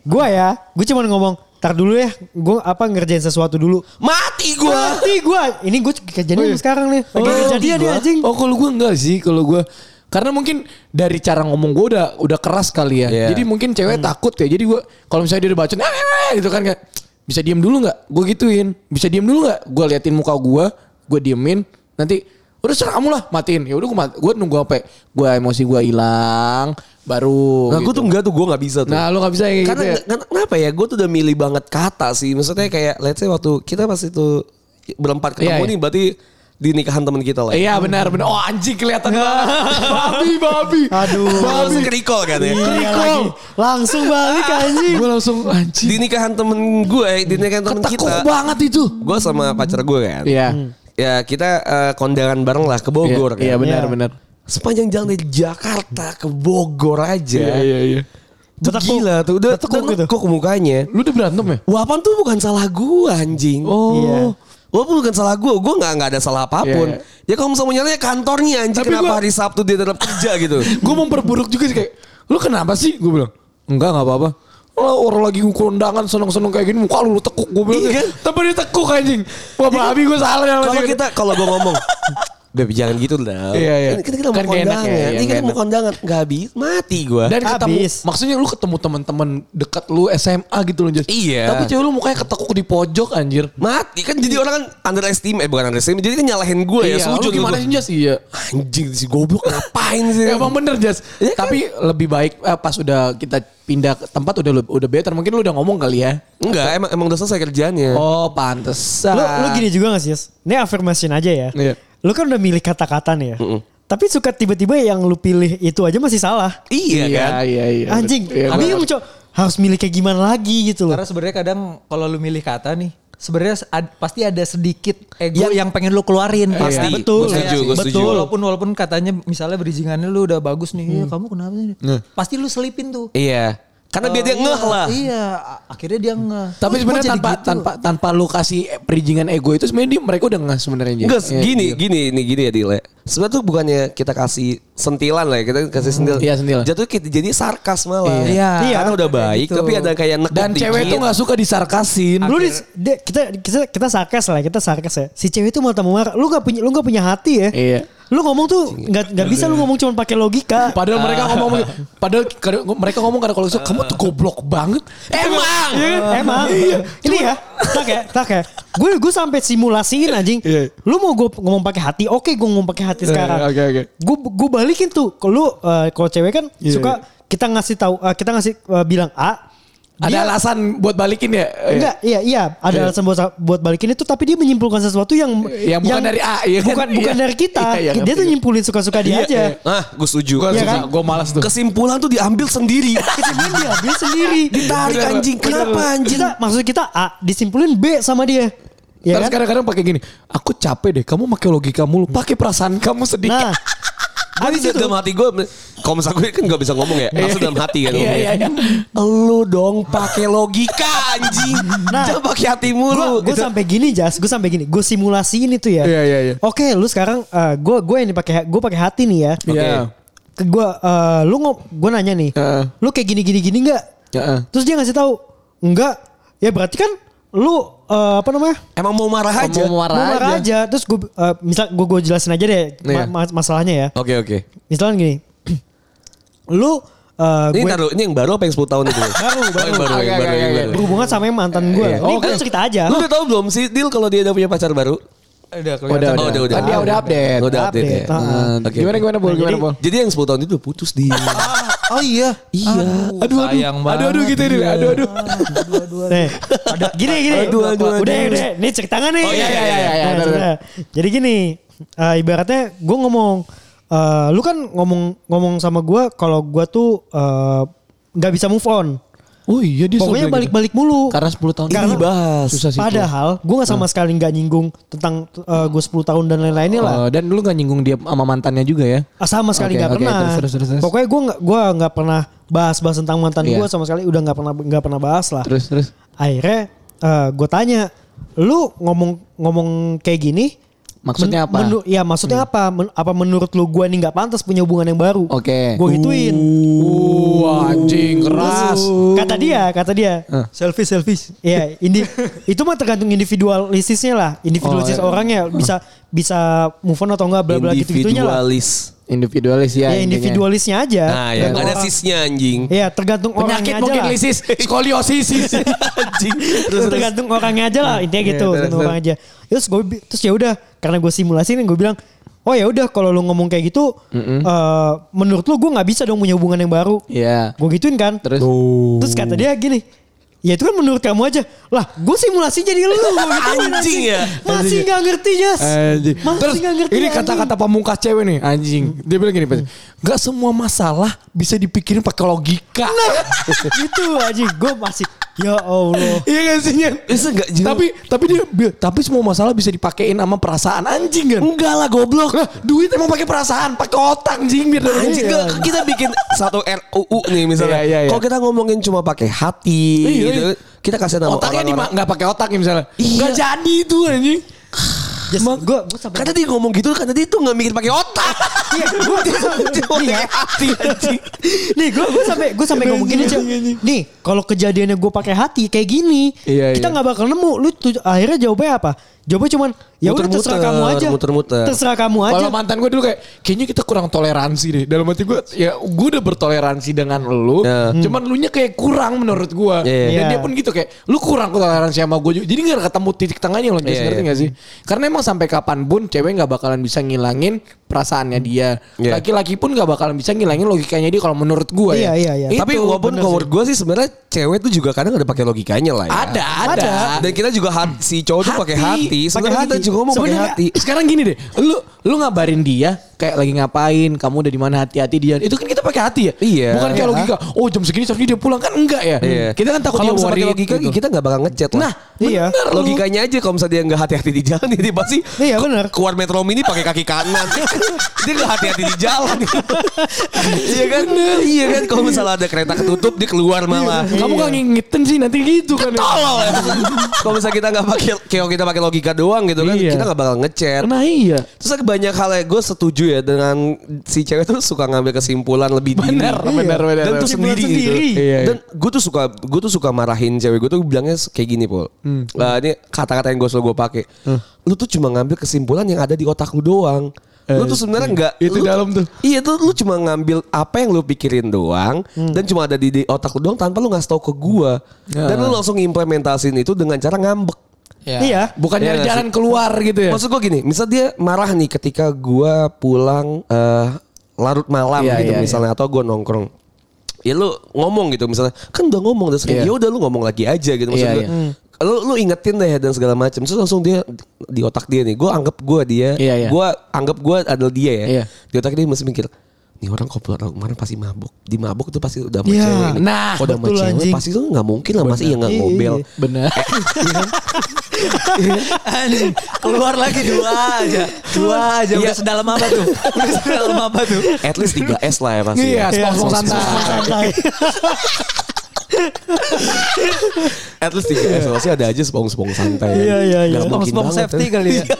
Gue cuma ngomong, tar dulu ya, gue ngerjain sesuatu dulu. Mati gua. Mati gue, ini gue kejadian sekarang nih. Lagi kejadian nih anjing. Oh kalau gue enggak sih, kalau gue karena mungkin dari cara ngomong gue udah keras kali ya. Yeah. Jadi mungkin cewek takut ya. Jadi gue kalau misalnya dia udah baca gitu kan kayak, bisa diem dulu nggak? Gue gituin. Bisa diem dulu nggak? Gue liatin muka gue diemin. Nanti udah serah kamu lah, matiin. Ya udah gue nunggu sampai gue emosi gue hilang, baru. Nah gue tuh gue nggak bisa tuh. Nah lo nggak bisa kayak Karena gitu ya. kenapa ya? Gue tuh udah milih banget kata sih. Maksudnya kayak let's say waktu kita pas itu berempat ketemu Iya. nih, berarti di nikahan teman kita lah. Iya benar. Oh anjing kelihatan banget. babi. Aduh. Langsung ke-recall kan ya. Iya lagi. Langsung balik anjing. Gue langsung anjing. Di nikahan temen gue, di nikahan temen Ketekuk kita. banget itu. Gue sama pacar gue kan. Iya. Ya kita kondangan bareng lah ke Bogor kan. Iya Iya. benar benar. Sepanjang jalan dari Jakarta ke Bogor aja. Iya. Itu Betekuk. gila tuh. Udah Betekuk gitu. nekuk mukanya. Lu udah berantem ya? Wapan tuh bukan salah gue anjing. Iya. Walaupun bukan salah gue nggak ada salah apapun. Iya. Ya kalau misalnya mau nyalanya kantornya anjing. Tapi Kenapa gua- hari Sabtu dia tetap kerja gitu. Gue memperburuk juga sih kayak, lu kenapa sih? Gue bilang, enggak apa-apa. Orang lagi kondangan seneng-seneng kayak gini, muka lu tekuk. Gue bilang, Iya. tapi dia tekuk anjing. Wah babi gue salah ya. Kalau gue ngomong, Beb jangan gitu lah. Iya. Ini kita mau Kan gak enak kondangan. ya, Ini yang kita gak mau enak. kondangan. Gak habis. Mati gue. Dan ketemu, Habis. maksudnya lu ketemu teman-teman dekat lu SMA gitu loh. Jas. Iya. Tapi cewek lu mukanya ketekuk di pojok anjir. Mati kan jadi orang kan underestimate. Bukan underestimate. Jadi kan nyalahin gue ya. Iya, Sujud lu gimana sih Jas? Iya. Anjing si goblok ngapain sih. Emang bener Jas. Iya kan? Tapi lebih baik pas udah kita pindah ke tempat udah better. Mungkin lu udah ngomong kali ya. Enggak emang udah selesai kerjaannya. Oh pantesan. Lu gini juga gak sih, Yas? Ini affirmation aja ya. Iya. Lu kan udah milih kata-kata nih ya. Tapi suka tiba-tiba yang lu pilih itu aja masih salah. Iya kan. Iya. Anjing, Iya, bingung Cok. Harus milih kayak gimana lagi gitu loh. Karena sebenarnya kadang kalau lu milih kata nih, sebenarnya pasti ada sedikit ego yang pengen lu keluarin. Pasti. betul. Gue setuju, gue setuju. Walaupun katanya misalnya bridgingannya lu udah bagus nih, kamu kenapa sih? Pasti lu selipin tuh. Iya. Karena biar dia ngeh lah. Iya, akhirnya dia ngeh. Tapi Oh, sebenarnya kok jadi gitu? tanpa lu kasih perijingan ego itu sebenarnya mereka udah nggak sebenarnya. Jas. Enggak, Iya, gini ya Dile. Sebenarnya tuh bukannya kita kasih sentilan lah ya, kita kasih sentilan. Iya, sentilan. Jatuh kita jadi sarkas malah. Iya. Karena udah baik, Gitu. tapi ada kayak nekuk Dan cewek tuh nggak suka disarkasin. Lu kita sarkas lah, kita sarkas ya. Si cewek itu mau marah, lu gak punya hati ya. Iya. Lu ngomong tuh nggak bisa lu ngomong cuma pakai logika. Padahal mereka ngomong karena kalau kamu tuh goblok banget. Emang. Emang. Ini ya, Tak ya. Gue sampai simulasiin anjing. Lu mau gue ngomong pakai hati, oke gue ngomong pakai hati sekarang. Oke. Gue balikin tuh. Kalau cewek kan suka kita ngasih tahu, kita ngasih bilang A. Ada alasan buat balikin ya? Enggak, iya. Ada alasan buat balikin itu, tapi dia menyimpulkan sesuatu yang bukan dari A, ya kan? Bukan dari kita. Dia tuh nyimpulin suka-suka dia aja. Gue setuju. Gue malas tuh. Kesimpulan tuh diambil sendiri. Kesimpulan diambil sendiri. Ditarik anjing. Kenapa anjing? Maksud kita A disimpulin B sama dia. Ya terus kan? kadang-kadang pakai gini. Aku capek deh. Kamu pakai logika mulu. Pakai perasaan kamu sedikit. Nah. Habis itu dalam hati gue, kalau misalnya gue kan gak bisa ngomong ya, langsung dalam hati kan. Iya. Lu dong pakai logika anjing. Jangan pakai hati mulu. Gue sampai gini gue simulasiin itu ya. Iya. Oke, lu sekarang gue yang gue pakai hati nih ya. Iya. Gue nanya nih, lu kayak gini nggak? Terus dia ngasih tahu enggak. Ya berarti kan lu emang mau marah aja. Mau marah aja. Terus gue misal gue jelasin aja deh masalahnya ya. Oke. Misalnya gini. Lu ini yang baru apa yang 10 tahun itu? baru. Berhubungan sama yang mantan gue. Ini gue cerita aja. Lu udah tahu belum sih Dil kalau dia udah punya pacar baru? Udah. Dia udah update. Gimana Bol? Jadi yang 10 tahun itu udah putus dia. Oh iya. Aduh. Gitu ini. Aduh. Ada gini. Udah. Ini cerita nggak nih? Oh iya. Jadi gini, ibaratnya gue ngomong, lu kan ngomong sama gue kalau gue tuh nggak bisa move on. Oh iya dia pokoknya balik-balik mulu. Karena 10 tahun ini dibahas. Padahal gue gak sama sekali gak nyinggung tentang gue 10 tahun dan lain-lainnya lah. Dan lu gak nyinggung dia sama mantannya juga ya? Sama sekali gak pernah. Terus. Pokoknya gue gak pernah bahas tentang mantan gue sama sekali. Udah gak pernah bahas lah. Terus. Akhirnya gue tanya, lu ngomong kayak gini maksudnya apa? Maksudnya apa? Apa menurut lu gue nih gak pantas punya hubungan yang baru? Oke. Gue gituin. Anjing keras. Kata dia. Selfish. Iya, itu mah tergantung individualisisnya lah. Individualisis orangnya bisa move on atau enggak bla bla gitu-gitunya lah. Individualis ya. Ya individualisnya aja. Nah ya ada sisnya anjing. Iya tergantung orangnya aja. Penyakit mungkin lisis. Skoliosis. Anjing. Terus tergantung orangnya aja lah. Intinya gitu. Tergantung orang aja. Terus ya udah. Karena gue simulasi gue bilang. Oh ya udah kalau lu ngomong kayak gitu. Menurut lu gue gak bisa dong punya hubungan yang baru. Iya. Gue gituin kan. Terus kata dia gini. Ya itu kan menurut kamu aja. Lah gue simulasi jadi lu. Anjing ya. Masih gak ngerti Jas. Terus ini kata-kata pamungkas cewek nih. Anjing. Dia bilang gini. Gak semua masalah bisa dipikirin pakai logika. Nah itu anjing. Gue masih. Ya Allah. Iya gak sih Nyan? Tapi semua masalah bisa dipakein sama perasaan anjing kan? Enggak lah goblok. Nah, duit emang pakai perasaan, pakai otak anjing biar anjing. Kita bikin satu RUU nih misalnya. Iya. Kalau kita ngomongin cuma pakai hati gitu, kita kasih nama otaknya orang-orang. nggak pakai otak misalnya. Nggak jadi itu anjing. Gue sampai karena dia ngomong gitu karena dia tuh nggak mikir pakai otak. Iya, gue pakai hati anjing. Nih, gue sampai ngomong gini aja. Nih, kalau kejadiannya gue pakai hati kayak gini, kita nggak bakal nemu. Lu akhirnya jawabnya apa? Jawabnya cuman ya udah terserah kamu aja. Muter-muter. Terserah kamu aja. Kalau mantan gue dulu kayaknya kita kurang toleransi deh. Dalam hati gue, ya gue udah bertoleransi dengan lu. Cuman lu nya kayak kurang menurut gue. Dan dia pun gitu kayak, lu kurang toleransi sama gue. Jadi gak ketemu titik tengahnya loh. Ngerti gak sih? Karena emang sampai kapanpun cewek gak bakalan bisa ngilangin perasaannya dia. Laki-laki pun gak bakalan bisa ngilangin logikanya dia kalau menurut gue ya. Iya. Tapi walaupun menurut gue sih sebenarnya cewek tuh juga kadang ada pakai logikanya lah ya. Ada. Dan kita juga si cowok tuh pakai hati. Sebenarnya kita juga ngomong pakai hati. Sekarang gini deh, lu ngabarin dia kayak lagi ngapain, kamu udah di mana, hati-hati dia. Itu kan kita pakai hati ya. Iya. Bukan kayak logika. Oh jam segini seharusnya dia pulang kan enggak ya. Iya. Kita kan takut kalau dia pakai logika gitu. kita nggak bakal ngechat lah. Nah, iya. Logikanya aja kalau misalnya dia nggak hati-hati di jalan dia pasti. Iya benar. Keluar Metro Mini pakai kaki kanan. Dia nggak hati-hati di jalan. Iya kan? Iya kan kalau misalnya ada kereta ketutup dia keluar malah. Kamu gak ngingetin sih nanti gitu kan. Tolol ya. Kalau misalnya kita nggak pakai kayak kita pakai logika doang gitu kan, kita nggak bakal ngechat. Nah iya. Terus ada banyak hal yang gue setuju ya dengan si cewek tuh suka ngambil kesimpulan lebih dini. Benar. Dan tuh sendiri gitu. Iya. Dan gue tuh suka marahin cewek gue tuh bilangnya kayak gini Pol. Ini kata-kata yang gue selalu gue pakai. Lu tuh cuma ngambil kesimpulan yang ada di otak lu doang. Lu tuh sebenarnya enggak itu lu, dalam tuh. Iya tuh lu cuma ngambil apa yang lu pikirin doang dan cuma ada di otak lu doang tanpa lu ngasih tahu ke gua. Dan lu langsung implementasiin itu dengan cara ngambek. Iya. Bukan nyari jalan keluar gitu ya. Maksud gua gini, misal dia marah nih ketika gua pulang larut malam gitu misalnya atau gua nongkrong. Ya lu ngomong gitu misalnya, kan udah ngomong udah sering. Ya udah lu ngomong lagi aja gitu maksud gua. Lu ingetin deh dan segala macam. Terus langsung dia di otak dia nih, gua anggap gua dia, gua anggap gua adalah dia ya. Di otak dia masih mikir, nih orang kok kemarin pasti mabuk. Di mabuk tuh pasti udah sama cewek nih. Nah, udah sama cewek pasti tuh nggak mungkin lah masih yang nggak ngobel. Bener. Keluar lagi dua aja. Udah sedalam apa tuh? At least 3S lah ya pasti. Iya, spong santai. At least 3S pasti ada aja spong santai. Iya. Spong safety kali ya.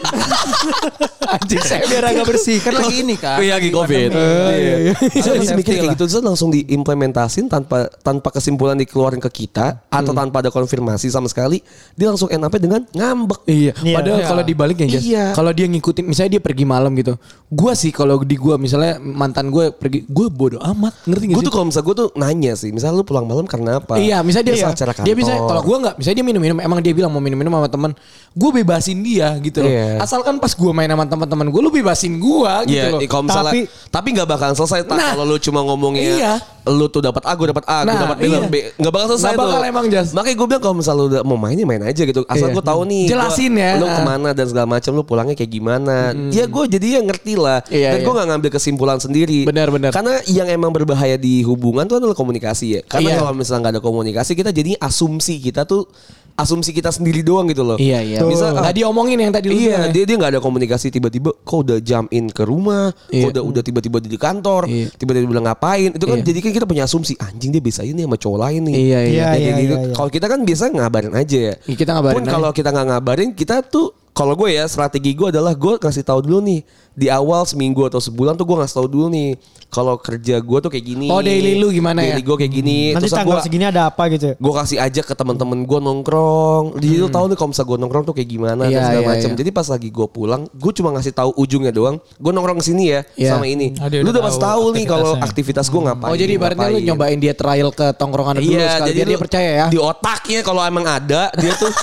Anjing saya biar agak bersih kan lagi ini kan. Iya lagi COVID. Saya masih mikir kayak gitu, terus langsung diimplementasin tanpa kesimpulan dikeluarin ke kita atau tanpa ada konfirmasi sama sekali, dia langsung end up dengan ngambek. Iya. Padahal kalau dibaliknya Jas, kalau dia ngikutin, misalnya dia pergi malam gitu, gua sih kalau di gua misalnya mantan gue pergi, gue bodo amat, ngerti gak sih? Gue tuh kalau misalnya gue tuh nanya sih, misalnya lu pulang malam karena apa? Iya, misalnya dia acara kantor. Dia bisa, kalau gue nggak, misalnya dia minum-minum, emang dia bilang mau minum-minum sama teman, gue bebasin dia gitu loh. Asalkan pas gue main sama teman-teman gue, lu bebasin gue gitu loh. Kalau misalnya, tapi nggak bakalan selesai. Kalau lu cuma ngomongnya, lu tuh dapat A, gue dapat A, gue dapat B, B, nggak bakal selesai tuh. Nggak bakal emang Jas. Makanya gue bilang kalau misalnya lu udah mau main aja gitu. Asal gue tahu nih. Jelasin ya. Lu kemana dan segala macam, lu pulangnya kayak gimana. Ya gue jadi ngerti lah. Dan gue nggak ngambil kesimpulan sendiri. Benar. Karena yang emang berbahaya di hubungan tuh adalah komunikasi ya. Karena kalau misalnya nggak ada komunikasi, kita jadi asumsi kita sendiri doang gitu loh. Iya. Bisa nggak diomongin yang tadi lu bilang. Iya, dia nggak ada komunikasi, tiba-tiba kok udah jump in ke rumah, kok udah tiba-tiba di kantor, tiba-tiba bilang ngapain. Itu kan jadi kan kita punya asumsi, anjing dia bisa ini sama cowok lain nih. Iya. Kalau kita kan biasa ngabarin aja ya. Kita ngabarin. Pun kalau kita nggak ngabarin, kita tuh kalau gue ya strategi gue adalah gue kasih tahu dulu nih di awal seminggu atau sebulan tuh gue ngasih tahu dulu nih kalau kerja gue tuh kayak gini. Oh daily lu gimana ya? Daily gue kayak gini. Nanti tanggal segini ada apa gitu ya? Gue kasih aja ke teman-teman gue nongkrong. Jadi lu tahu nih kalau misalnya gue nongkrong tuh kayak gimana dan segala macam. Jadi pas lagi gue pulang, gue cuma ngasih tahu ujungnya doang. Gue nongkrong kesini ya sama ini. Lu udah pasti tahu nih kalau aktivitas gue ngapain. Oh jadi ibaratnya lu nyobain dia trial ke tongkrongan dulu sekali biar dia percaya ya. Di otaknya kalau emang ada dia tuh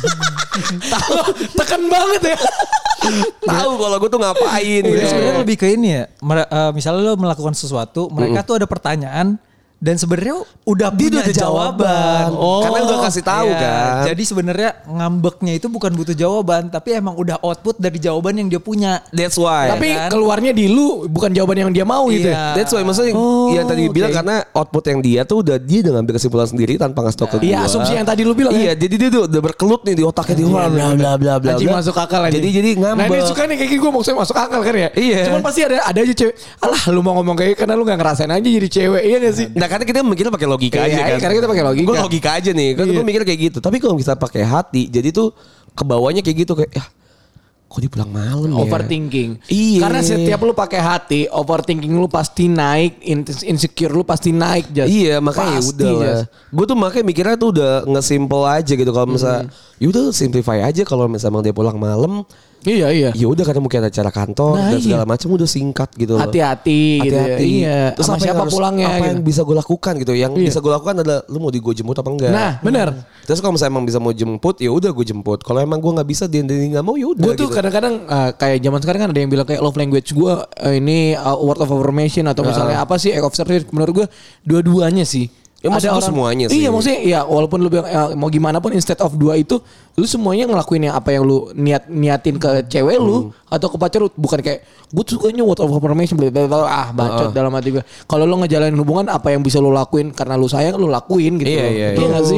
tahu tekan banget ya. Tahu kalau gue tuh ngapain. Sebenarnya lebih ke ini ya. Misalnya lo melakukan sesuatu, mereka tuh ada pertanyaan dan sebenarnya udah punya jawaban. Karena udah kasih tahu kan. Jadi sebenarnya ngambeknya itu bukan butuh jawaban, tapi emang udah output dari jawaban yang dia punya. That's why. Tapi keluarnya di lu bukan jawaban yang dia mau gitu ya. That's why maksudnya yang tadi bilang karena output yang dia tuh dia udah ngambil kesimpulan sendiri tanpa ngasih tau ke gue. Iya, asumsi yang tadi lu bilang. Iya, jadi dia tuh udah berkelut nih di otaknya dia. Bla bla bla. Anjing masuk akal aja. Jadi ngambek. Nah, ini suka nih kayak gini gue maksudnya masuk akal kan ya. Iya. Cuman pasti ada aja cewek. Alah, lu mau ngomong kayak karena lu enggak ngerasain aja jadi cewek. Iya enggak sih? Nah, karena kita mikirnya pakai logika aja kan. Karena kita pakai logika. Gue logika aja nih. Kan gue mikir kayak gitu. Tapi kalau kita pakai hati, jadi tuh kebawanya kayak gitu kayak ya kok dia pulang malam ya. Overthinking. Iya. Karena setiap lu pakai hati, overthinking lu pasti naik, insecure lu pasti naik. Iya, makanya udah lah. Gue tuh makanya mikirnya tuh udah nge-simple aja gitu. Kalau misalnya yaudah simplify aja kalau misalnya dia pulang malam. Iya. Ya udah karena mungkin ada acara kantor dan segala macam udah singkat gitu loh. Hati-hati gitu ya. Iya. Terus sama siapa pulangnya apa yang bisa gue lakukan gitu. Yang bisa gue lakukan adalah lu mau gue jemput apa enggak. Nah, benar. Terus kalau misalnya emang bisa mau jemput ya udah gue jemput. Kalau emang gue nggak bisa dia nggak mau ya udah. Gue tuh kadang-kadang kayak zaman sekarang kan ada yang bilang kayak love language gue ini word of affirmation atau misalnya apa sih act of service. Menurut gue dua-duanya sih. Ya maksud gue semuanya sih. Iya maksudnya ya walaupun lu bilang mau gimana pun instead of dua itu lu semuanya ngelakuin yang apa yang lu niatin ke cewek lu atau ke pacar lu, bukan kayak gue sukanya word of affirmation bacot dalam hati gue. Kalau lu ngejalanin hubungan apa yang bisa lu lakuin karena lu sayang lu lakuin gitu. Iya. Iya enggak sih?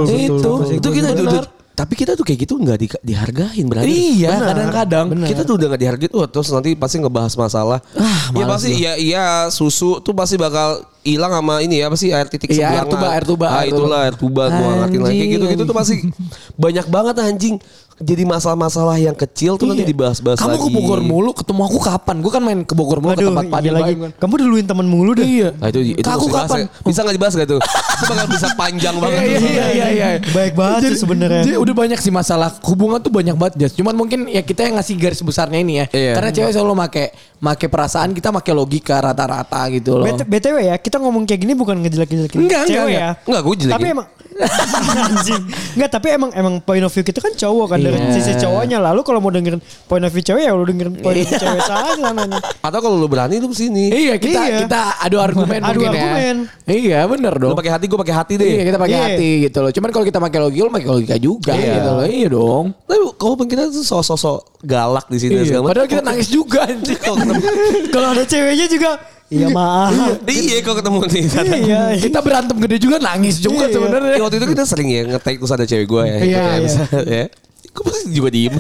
Itu kita tapi kita tuh kayak gitu nggak dihargain berarti. Iya, kadang-kadang kita tuh udah nggak dihargain. Terus nanti pasti ngebahas masalah. Ya pasti iya susu tuh pasti bakal hilang sama ini ya apa sih air titik sebelah. Air tuba. Itulah air tuba gua ngertiin lagi gitu tuh pasti banyak banget anjing. jadi masalah-masalah yang kecil tuh nanti dibahas-bahas lagi. Kamu ke Bogor mulu, ketemu aku kapan? Gue kan main ke Bogor mulu ke tempat Padil lagi. kan. Kamu duluin temen mulu deh. Iya. Nah, itu Aku mesti kapan? bahas ya. Bisa nggak dibahas gak tuh? Itu bakal bisa panjang banget. Iya. Baik banget sih sebenarnya. Jadi udah banyak sih masalah hubungan tuh banyak banget Jas. Cuman mungkin ya kita yang ngasih garis besarnya ini ya. Iya. Karena cewek selalu make perasaan, kita make logika rata-rata gitu loh. BTW ya, kita ngomong kayak gini bukan ngejelek-jelekin cewek ya. Enggak, gue jelekin. Tapi emang anjing. Enggak, tapi emang point of view kita kan cowok kan dari sisi cowoknya. Lalu kalau mau dengerin point of view cewek ya lu dengerin point of view cewek saja nanya. Atau kalau lu berani lu kesini. Iya, kita adu argumen Adu mungkin argumen. ya. Iya, bener dong. Lu pakai hati, gue pakai hati deh. Iya, kita pakai Iya. hati gitu loh. Cuman kalau kita pakai logika, lu pakai logika juga gitu loh. Iya dong. Tapi kalau kita tuh sosok galak di sini Iya. segala macam. Padahal kita nangis juga anjing. Kalau ada ceweknya juga iya maaf. Iya, kalau ketemu nih. Iya. Kita berantem gede juga nangis juga Iya. sebenarnya. Ya, waktu itu kita sering ya nge-tag terus ada cewek gue ya. Iya, Kayak iya. misalnya, ya. Gue pasti juga diem.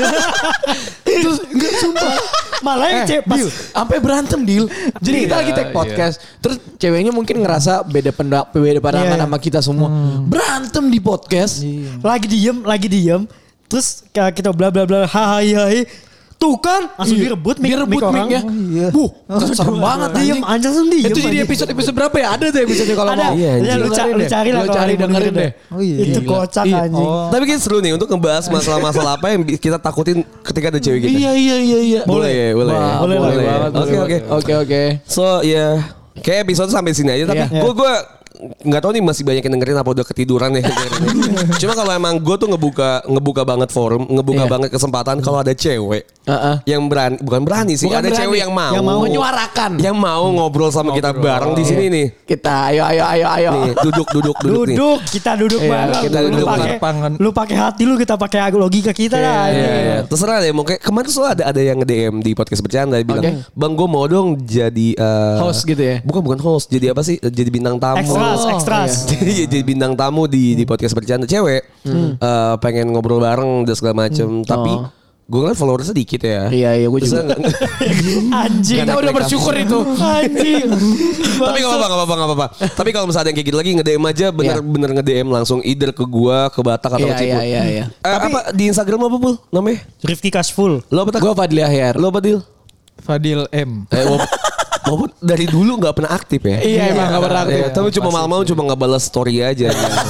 Terus enggak sumpah. Malah yang cewek pas Sampai berantem deal. Jadi kita lagi take podcast. Terus ceweknya mungkin ngerasa beda pandangan Iya. sama kita semua. Berantem di podcast. lagi diem. Terus kita bla bla bla hai. Tuh kan langsung direbut mic orang. mic-nya. Serem banget Diem aja langsung diem. Itu jadi anjing. episode berapa ya? Ada tuh episode kalau Ada. mau. Iya, Ya, lu cari lah. Lu kalau cari mau dengerin deh. Itu kocak Iya. anjing. Tapi kayak seru nih untuk ngebahas masalah-masalah apa yang kita takutin ketika ada cewek kita. Iya. Boleh. Boleh. Oke. So ya, kayak episode sampai sini aja. Tapi Iya. gue nggak tahu nih masih banyak yang dengerin apa udah ketiduran ya. Cuma kalau emang gue tuh ngebuka banget forum, ngebuka banget kesempatan kalau ada cewek yang bukan berani sih, Bukan ada berani. cewek yang mau menyuarakan. yang mau ngobrol sama kita bareng di sini nih. Kita ayo. Nih, duduk nih. Kita duduk bareng. kita duduk Lu pakai hati lu, kita pakai logika kita lah. Iya. Terserah deh, mau kayak kemarin tuh ada yang nge-DM di podcast bercanda bilang, Oke. "Bang, gue mau dong jadi Host gitu ya? Bukan host, jadi apa sih? Jadi bintang tamu." Extras. Jadi bintang tamu di podcast bercanda cewek. Pengen ngobrol bareng dan segala macem. Tapi gue ngeliat followersnya dikit ya. Iya, gue Terus juga. Anjing. Kita udah bersyukur itu. Anjing. Tapi gak apa-apa. Tapi kalau misalnya ada yang kayak gitu lagi nge-DM aja bener nge-DM langsung either ke gua, ke Batak atau ke Cipul. Iya. Apa di Instagram apa Pul namanya? Rifki Cashful. Lo apa tak? Gue Fadli Ahyar. Lo apa Dil? Fadil M. Walaupun dari dulu gak pernah aktif ya. Iya, emang gak pernah aktif. Tapi cuma malam-malam cuma gak balas story aja.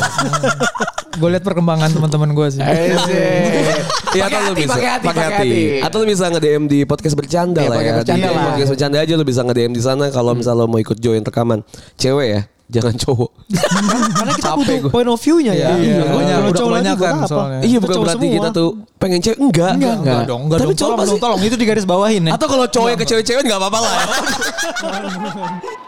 Gue liat perkembangan teman-teman gue sih. Iya, atau lu bisa pakai hati. Atau lu bisa nge-DM di podcast bercanda lah ya. Podcast bercanda Di lah. podcast bercanda aja lu bisa nge-DM di sana kalau misalnya lo mau ikut join rekaman. Cewek ya, jangan cowok. Karena kita butuh point of view-nya ya. Udah Cowok lagi kebanyakan buat apa? soalnya. Iya, Kita bukan cowok berarti semua. kita tuh pengen cewek. Enggak. Enggak dong. Tapi cowok pasti. Tolong itu digaris bawahin ya. Atau kalau cowok ke cewek-cewek enggak apa-apa lah ya.